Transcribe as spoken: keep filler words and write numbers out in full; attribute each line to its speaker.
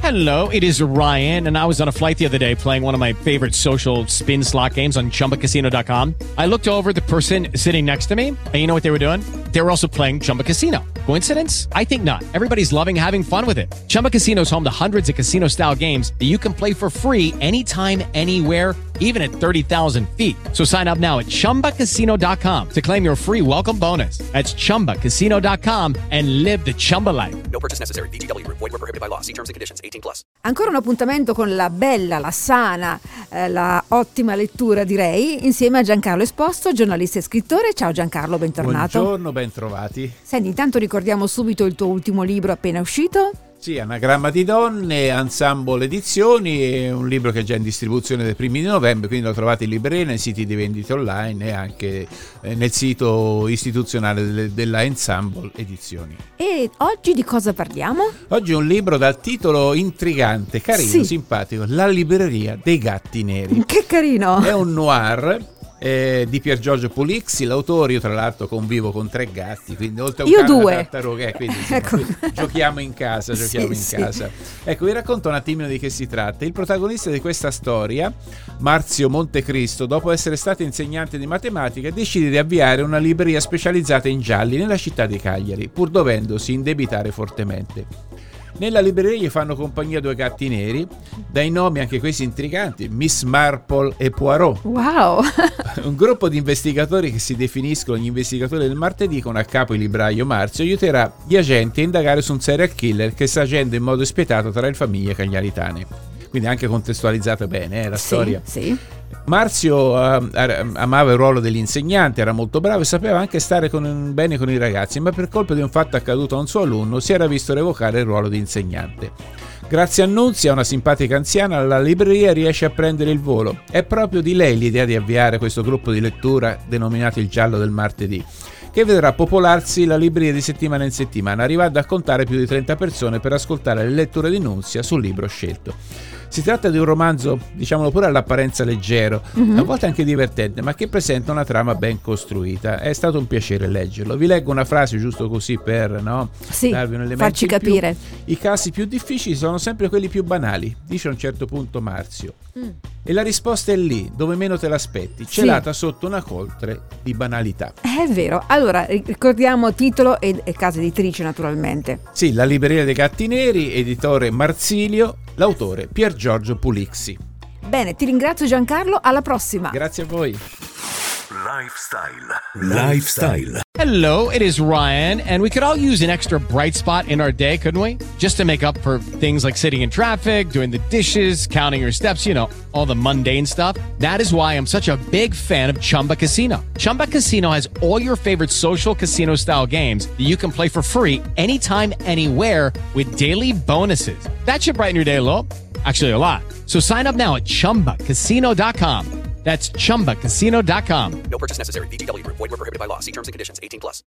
Speaker 1: Hello, it is Ryan, and I was on a flight the other day playing one of my favorite social spin slot games on Chumba Casino dot com. I looked over at the person sitting next to me, and you know what they were doing? They were also playing Chumba Casino. Coincidence? I think not. Everybody's loving having fun with it. Chumba Casino is home to hundreds of casino-style games that you can play for free anytime, anywhere, even at thirty thousand feet. So sign up now at Chumba Casino dot com to claim your free welcome bonus. That's Chumba Casino dot com and live the Chumba life.
Speaker 2: No purchase necessary. V G W. Void where prohibited by law. See terms and conditions. eighteen plus.
Speaker 3: Ancora un appuntamento con la bella, la sana, eh, la ottima lettura, direi, insieme a Giancarlo Esposto, giornalista e scrittore. Ciao Giancarlo, bentornato.
Speaker 4: Buongiorno, bentrovati.
Speaker 3: Senti, intanto ricordiamo subito il tuo ultimo libro appena uscito.
Speaker 4: Sì, Anagramma di donne, Ensemble Edizioni, è un libro che è già in distribuzione dai primi di novembre, quindi lo trovate in libreria, nei siti di vendita online e anche nel sito istituzionale della Ensemble Edizioni.
Speaker 3: E oggi di cosa parliamo?
Speaker 4: Oggi è un libro dal titolo intrigante, carino,
Speaker 3: sì.
Speaker 4: simpatico, La libreria dei gatti neri.
Speaker 3: Che carino!
Speaker 4: È un noir Eh, di Pier Giorgio Pulizzi, l'autore. Io tra l'altro convivo con tre gatti, quindi oltre a un
Speaker 3: io
Speaker 4: cane e una
Speaker 3: due
Speaker 4: tartaruga, eh, quindi insomma,
Speaker 3: ecco.
Speaker 4: giochiamo in casa giochiamo
Speaker 3: sì,
Speaker 4: in casa sì. Ecco, vi racconto un attimino di che si tratta. Il protagonista di questa storia, Marzio Montecristo, dopo essere stato insegnante di matematica, decide di avviare una libreria specializzata in gialli nella città di Cagliari, pur dovendosi indebitare fortemente. Nella libreria gli fanno compagnia due gatti neri, dai nomi anche questi intriganti, Miss Marple e Poirot.
Speaker 3: Wow!
Speaker 4: Un gruppo di investigatori che si definiscono gli investigatori del martedì, con a capo il libraio Marzio, aiuterà gli agenti a indagare su un serial killer che sta agendo in modo spietato tra le famiglie cagliaritane. Quindi anche contestualizzata bene eh, la
Speaker 3: sì,
Speaker 4: storia.
Speaker 3: Sì.
Speaker 4: Marzio uh, amava il ruolo dell'insegnante, era molto bravo e sapeva anche stare con, bene con i ragazzi, ma per colpa di un fatto accaduto a un suo alunno si era visto revocare il ruolo di insegnante. Grazie a Nunzia, una simpatica anziana, la libreria riesce a prendere il volo. È proprio di lei l'idea di avviare questo gruppo di lettura denominato Il Giallo del Martedì, che vedrà popolarsi la libreria di settimana in settimana, arrivando a contare più di trenta persone per ascoltare le letture di Nunzia sul libro scelto. Si tratta di un romanzo, diciamolo pure all'apparenza leggero, mm-hmm. a volte anche divertente, ma che presenta una trama ben costruita. È stato un piacere leggerlo. Vi leggo una frase giusto così per no,
Speaker 3: sì,
Speaker 4: darvi un elemento
Speaker 3: farci
Speaker 4: in più.
Speaker 3: capire.
Speaker 4: I casi più difficili sono sempre quelli più banali, dice a un certo punto Marzio. Mm. E la risposta è lì, dove meno te l'aspetti, celata sì. sotto una coltre di banalità.
Speaker 3: È vero. Allora, ricordiamo titolo e, e casa editrice, naturalmente.
Speaker 4: Sì, La libreria dei gatti neri, editore Marsilio, l'autore Pier Giorgio Pulizzi.
Speaker 3: Bene, ti ringrazio Giancarlo, alla prossima.
Speaker 4: Grazie a voi.
Speaker 5: Lifestyle. Lifestyle.
Speaker 1: Hello, it is Ryan, and we could all use an extra bright spot in our day, couldn't we? Just to make up for things like sitting in traffic, doing the dishes, counting your steps, you know, all the mundane stuff. That is why I'm such a big fan of Chumba Casino. Chumba Casino has all your favorite social casino-style games that you can play for free anytime, anywhere with daily bonuses. That should brighten your day a little. Actually, a lot. So sign up now at Chumba Casino dot com. That's Chumba Casino dot com.
Speaker 2: No purchase necessary. V G W. Void where prohibited by law. See terms and conditions. eighteen plus.